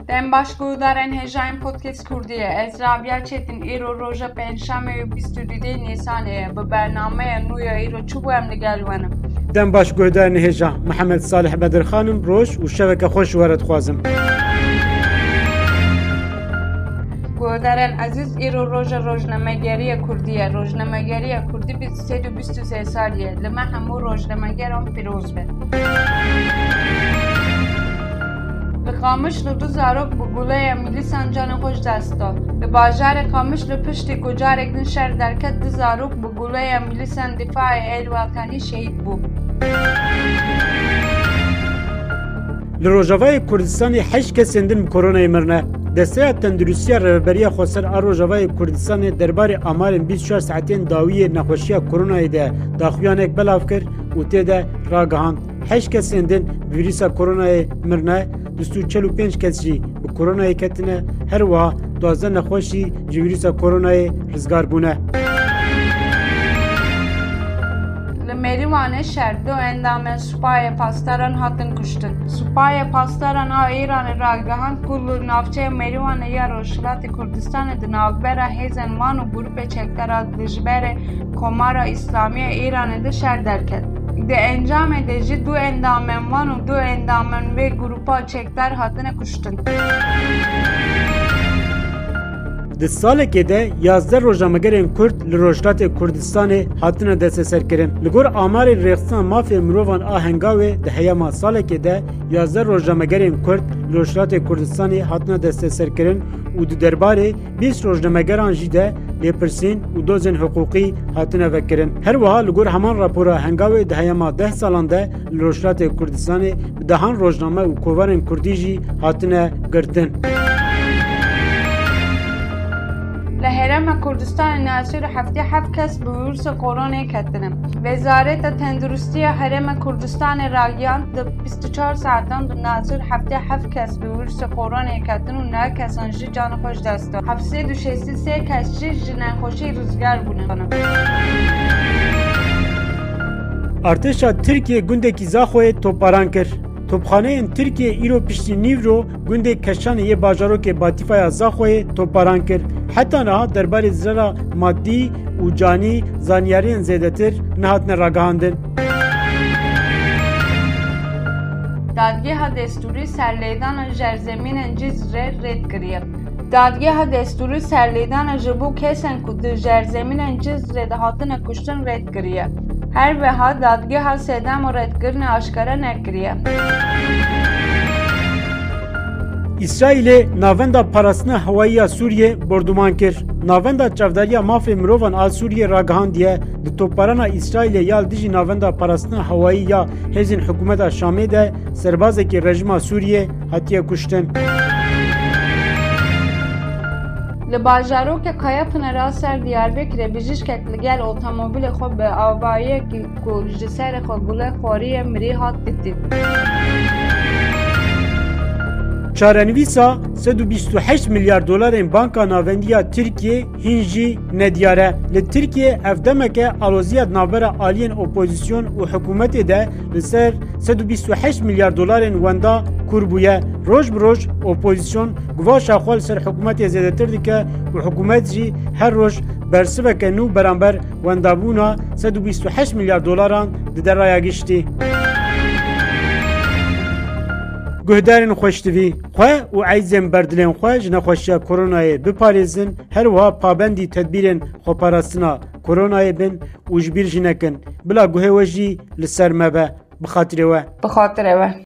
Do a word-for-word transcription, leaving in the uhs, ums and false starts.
Dem başgudarên hêjayên podcast Kurdiye ez Rabia Çetin îro roja pênşemê û bîst û dûdê Nîsanê ye bi bernameya nû ya îro çi bû em li gel we ne. Dem başgudarên hêja Mihemed Salih Bedirxanim roj û şeveke xweş were dixwazim. Guhdarên ezîz îro roja rojnamegeriya Kurdiye. Rojnamegeriya Kurdî sed û bîst û sê sal ye. Li me hemû rojnamegeran pîroz be. Li Qamiş li du zarok bi guleya mîlîsan canê xwe ji dest da. Li bajarê Qamiş li piştî ku carek din şer derket du zarok bi guleya mîlîsan dîfaê Êlwatanî şehîd bû. Li Rojavayê Kurdistanê heşt kesên din bi koronayê mirine. Desteya Tenduristiya Rêveberiya Xweser a Rojavayê Kurdistanê derbarê amarên bîst û çar saetên dawiyê nexweşiya koronayê de daxuyanek belav kir û tê de ragihand. Heşt kesên din bi vîrusa koronayê mirine, bîst û çel û pênc kes jî bi koronayê ketine, her wiha duwazdeh nexweş jî ji vîrusa koronayê rizgar bûne. Li Mêrîwanê şer du endamên supayê pastaran hatin kuştin. Supayê pastaran a Îranê ragihand ku li navçeya Mêrîwanê ya Rojhilatê Kurdistanê di navbera hêzên wan û grûpê çekdara dijberê Komara İslamiya Îranê de şer derket. Di encamê de jî du endamên wan û du endamên vê grûpa çekdar hatine kuştin. Di salekê de yazdeh rojnamegerên Kurd li Rojhilatê Kurdistanê hatine desteserkirin. Li gor amarên rêxistina mafê mirovan a Hengavê di heyema salekê de yazdeh rojnamegerên Kurd li Rojhilatê Kurdistanê hatine desteserkirin û di derbarê bîst rojnamegeran jî de lêpirsîn û dozên hiqûqî hatine vekirin. Her wiha li gor heman rapora Hengavê di heyema deh salan de li Rojhilatê Kurdistanê bi dehan rojname û kovarên Kurdî jî hatine girtin. Li Herêma Kurdistanê Nasîr heftê heft kes bi vîrusa koronayê ketine. Wezareta Tenduristiya Herêma Kurdistanê ragihand di bîst û çar saetan di Nasîr heftê heft kes bi vîrusa koronayê ketin û neh kesan jî canê xwe ji dest dan. Heft sêd û şêstî sê kes jî ji nexweşî rizgar bûne. Artêşa Tirkiye gundekî Zaxoyê topbaran kir. Topxaneyên Tirkiye îro piştî Nîvro gundê Keşanê yê bajarokê Batîfaya Zaxoyê topbaran kir. Heta niha derbarê zirara maddî û canî zanyariyên zêdetir nehatine ragihandin. Dadgeha destûrî serlêdana jerzemînên Cizre rêd kiriye. Dadgeha destûrî serlêdana ji bo kesên ku di jerzemînên Cizre de hatine kuştin rêd kiriye. Her wiha dadgeha sedem û rêdkirinê aşkare nekiriye. İsraîlê navenda parastina hewayî Sûriyê borduman kir. Navenda çavdariya mafê mirovan a Sûriyê ragihandiye di topbarana İsraîlê ya dijî navenda parastina hewayî ya hêzên hikûmeta Şamê de serbazekî rejima Sûriyê hatiye kuştin. Li bajarokê Qayapınarê ser Diyarbekirê bijîşkek li gel otomobîlê xwe bi avayiyekî ku ji serê xwe gule xwariye mirî hat dîtin. Çarenivîsa sed û bîst û heşt milyar dolarên Banka Navendiya Tirkiye hîn jî nediyar e. Li Tirkiye ev demeke aloziya navbera aliyên opozîsyon û hikûmetê de li ser sed û bîst û heşt milyar dolarên wenda kur bûye. Roj bi roj opozîsyon guvaşa xwe li ser hikûmetê zêdetir dike û hikûmet jî her roj bersiveke nû beramber wendabûna sed û bîst û heşt milyar dolaran di deraya giştî. Guhdarên xweştivî, xwe û eyzên berdilên xwe ji nexweşiya koronayê biparêzin, her wiha pabendî tedbîrên xweparastina koronayê bin û ji bîr jî nekin. Bila guhê we jî li ser me be. Bi xatirê we. Bi xatirê we.